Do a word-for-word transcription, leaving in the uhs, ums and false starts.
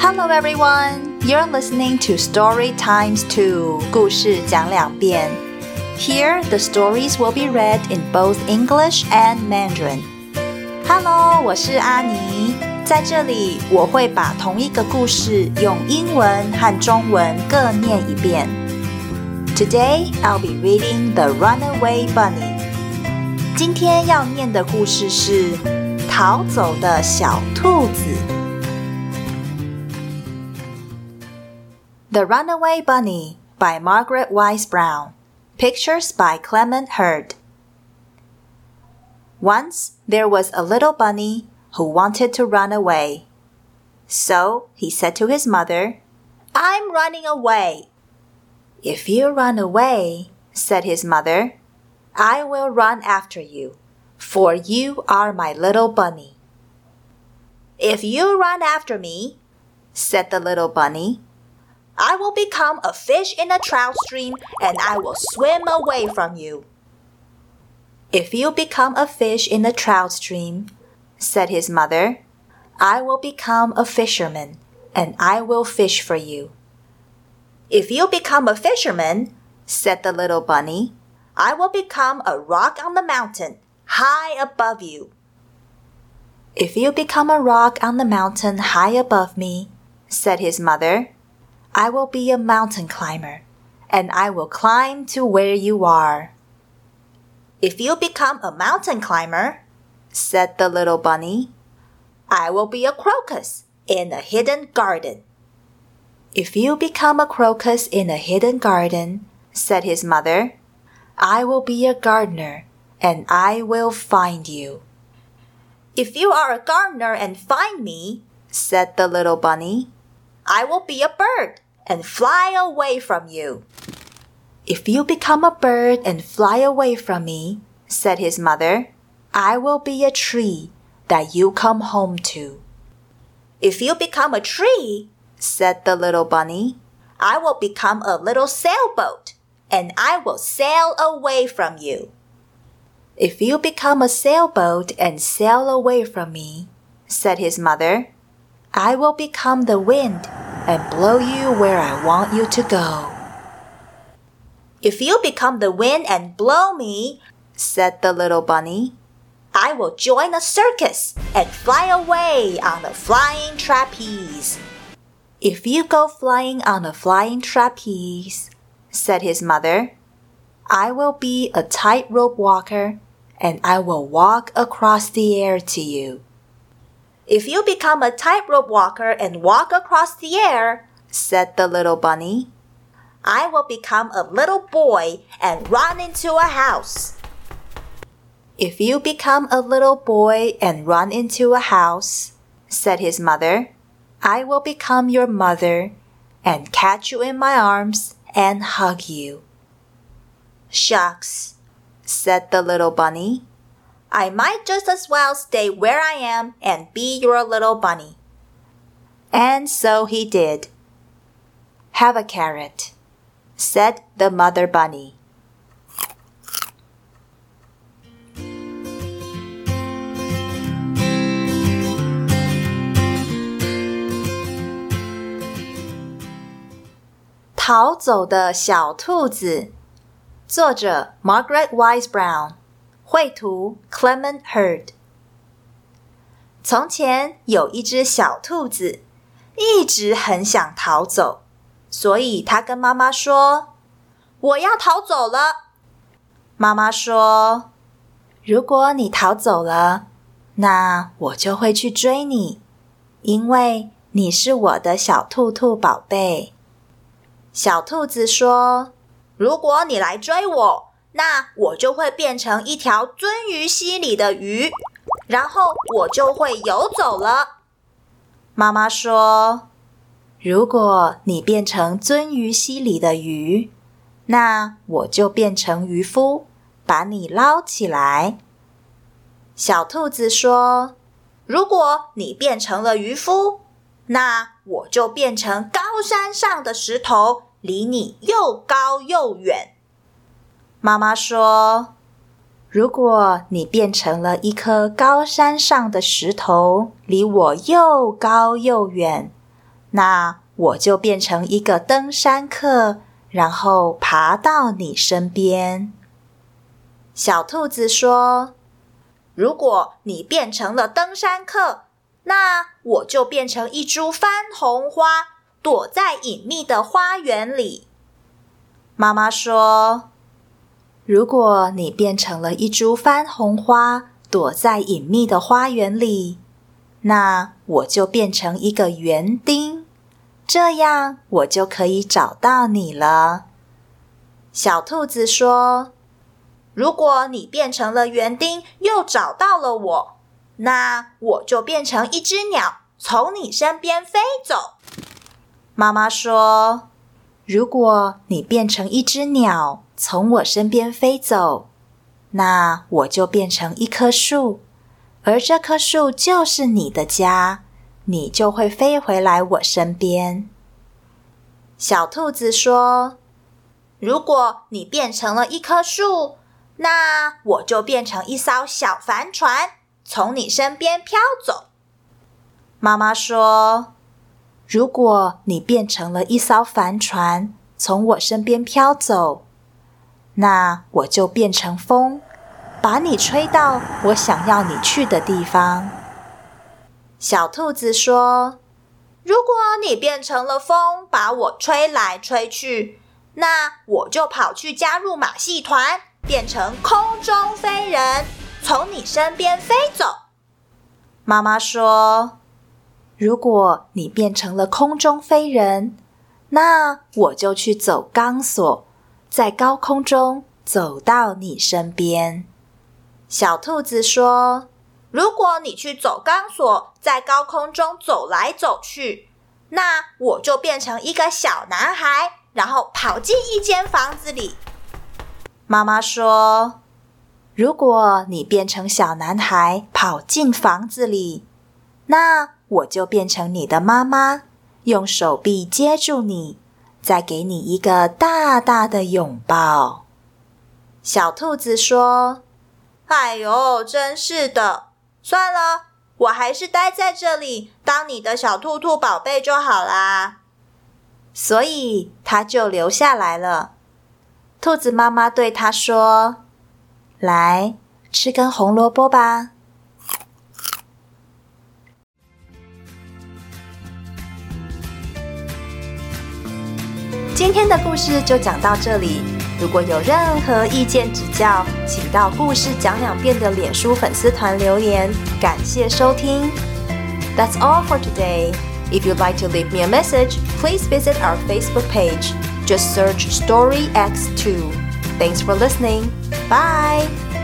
Hello everyone, you're listening to Story Times two, 故事讲两遍. Here, the stories will be read in both English and Mandarin. Hello, 我是阿妮，在这里我会把同一个故事用英文和中文各念一遍。Today, I'll be reading The Runaway Bunny. 今天要念的故事是逃走的小兔子。The Runaway Bunny by Margaret Wise Brown. Pictures by Clement Hurd. Once there was a little bunny who wanted to run away. So he said to his mother, "I'm running away." "If you run away," said his mother, "I will run after you, for you are my little bunny." "If you run after me," said the little bunny, "I will become a fish in a trout stream and I will swim away from you." "If you become a fish in a trout stream," said his mother, "I will become a fisherman and I will fish for you." "If you become a fisherman," said the little bunny, "I will become a rock on the mountain, high above you." "If you become a rock on the mountain high above me," said his mother, "I will be a mountain climber, and I will climb to where you are." "If you become a mountain climber," said the little bunny, "I will be a crocus in a hidden garden." "If you become a crocus in a hidden garden," said his mother, "I will be a gardener, and I will find you." "If you are a gardener and find me," said the little bunny, "I will be a bird and fly away from you." "If you become a bird and fly away from me," said his mother, "I will be a tree that you come home to." "If you become a tree," said the little bunny, "I will become a little sailboat and I will sail away from you." "If you become a sailboat and sail away from me," said his mother, "I will become the wind and blow you where I want you to go." "If you become the wind and blow me," said the little bunny, "I will join a circus and fly away on a flying trapeze." "If you go flying on a flying trapeze," said his mother, "I will be a tightrope walker and I will walk across the air to you." "If you become a tightrope walker and walk across the air," said the little bunny, "I will become a little boy and run into a house." "If you become a little boy and run into a house," said his mother, "I will become your mother and catch you in my arms and hug you." "Shucks," said the little bunny, "I might just as well stay where I am and be your little bunny." And so he did. "Have a carrot," said the mother bunny.《逃走的小兔子》，作者 Margaret Wise Brown， 绘图 Clement Hurd。从前有一只小兔子，一直很想逃走，所以它跟妈妈说：“我要逃走了。”妈妈说：“如果你逃走了，那我就会去追你，因为你是我的小兔兔宝贝。”小兔子说：“如果你来追我，那我就会变成一条鳟鱼溪里的鱼，然后我就会游走了。”妈妈说：“如果你变成鳟鱼溪里的鱼，那我就变成渔夫，把你捞起来。”小兔子说：“如果你变成了渔夫，那我就变成高山上的石头，离你又高又远。”妈妈说：“如果你变成了一颗高山上的石头，离我又高又远， 那我就变成一个登山客，然后爬到你身边。小兔子说，如果你变成了登山客，那我就变成一株番红花，躲在隐秘的花园里。妈妈说，如果你变成了一株番红花，躲在隐秘的花园里，那我就变成一个园丁，这样我就可以找到你了。小兔子说，如果你变成了园丁，又找到了我，那我就变成一只鸟，从你身边飞走。妈妈说，如果你变成一只鸟，从我身边飞走，那我就变成一棵树，而这棵树就是你的家，你就会飞回来我身边。小兔子说，如果你变成了一棵树，那我就变成一艘小帆船，从你身边飘走。妈妈说，如果你变成了一艘帆船，从我身边飘走，那我就变成风，把你吹到我想要你去的地方。小兔子说，如果你变成了风，把我吹来吹去，那我就跑去加入马戏团，变成空中飞人，从你身边飞走。妈妈说，如果你变成了空中飞人，那我就去走钢索，在高空中走到你身边。小兔子说，如果你去走钢索，在高空中走来走去，那我就变成一个小男孩，然后跑进一间房子里。妈妈说，如果你变成小男孩，跑进房子里，那我就变成你的妈妈，用手臂接住你，再给你一个大大的拥抱。小兔子说，哎呦，真是的，算了，我还是待在这里，当你的小兔兔宝贝就好啦。所以它就留下来了。兔子妈妈对它说，来，吃根红萝卜吧。今天的故事就讲到这里，如果有任何意见指教，请到故事讲两遍的脸书粉丝团留言。感谢收听。That's all for today. If you'd like to leave me a message, please visit our Facebook page. Just search Story X two. Thanks for listening. Bye!